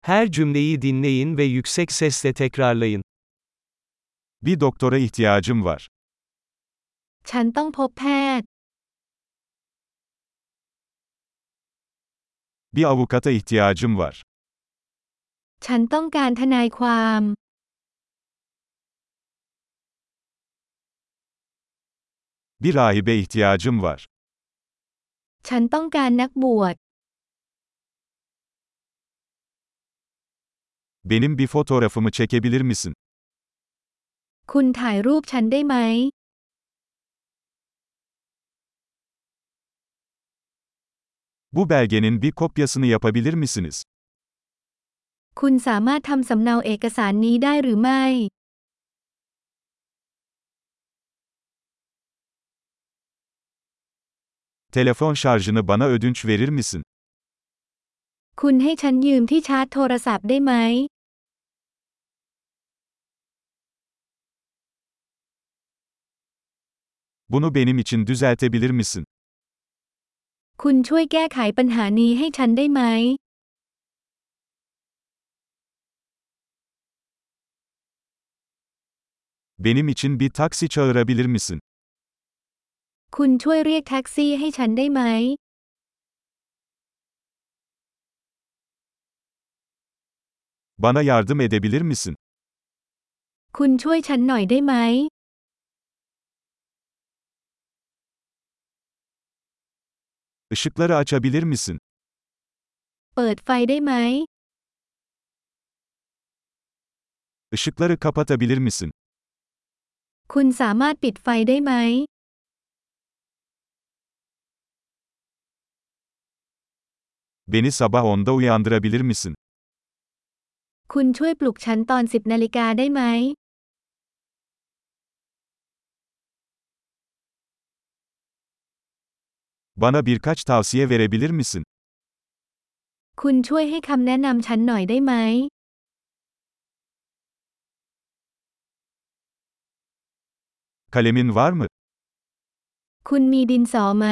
Her cümleyi dinleyin ve yüksek sesle tekrarlayın. Bir doktora ihtiyacım var. ฉันต้องพบแพทย์ Bir avukata ihtiyacım var. ฉันต้องการทนายความ Bir rahibe ihtiyacım var. ฉันต้องการนักบวช Benim bir fotoğrafımı çekebilir misin? คุณถ่ายรูปฉันได้ไหม Bu belgenin bir kopyasını yapabilir misiniz? คุณสามารถทำสำเนาเอกสารนี้ได้หรือไม่ Telefon şarjını bana ödünç verir misin? คุณให้ฉันยืมที่ชาร์จโทรศัพท์ได้ไหม Bunu benim için düzeltebilir misin? คุณช่วยแก้ไขปัญหานี้ให้ฉันได้ไหม Benim için bir taksi çağırabilir misin? คุณช่วยเรียกแท็กซี่ให้ฉันได้ไหม Bana yardım edebilir misin? คุณช่วยฉันหน่อยได้ไหม Işıkları açabilir misin? เปิดไฟได้ไหม Işıkları kapatabilir misin? คุณสามารถปิดไฟได้ไหม Beni sabah 10'da uyandırabilir misin? คุณช่วยปลุกฉันตอน 10 นาฬิกาได้ไหม Bana birkaç tavsiye verebilir misin? คุณช่วยให้คำแนะนำฉันหน่อยได้ไหม Kalemin var mı? คุณมีดินสอไหม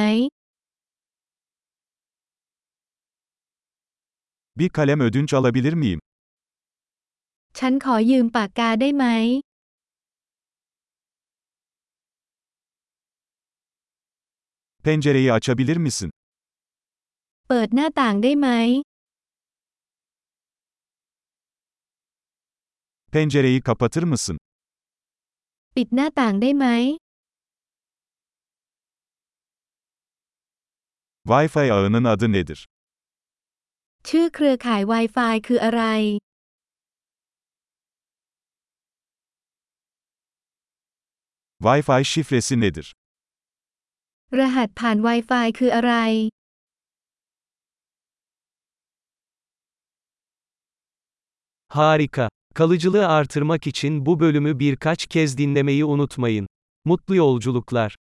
Bir kalem ödünç alabilir miyim? ฉันขอยืมปากกาได้ไหม Pencereyi açabilir misin? เปิดหน้าต่างได้ไหม Pencereyi kapatır mısın? ปิดหน้าต่างได้ไหม Wi-Fi ağının adı nedir? ชื่อเครือข่าย Wi-Fi คืออะไร Wi-Fi şifresi nedir? รหัสผ่าน Wi-Fi คืออะไร Harika. Kalıcılığı artırmak için bu bölümü birkaç kez dinlemeyi unutmayın. Mutlu yolculuklar.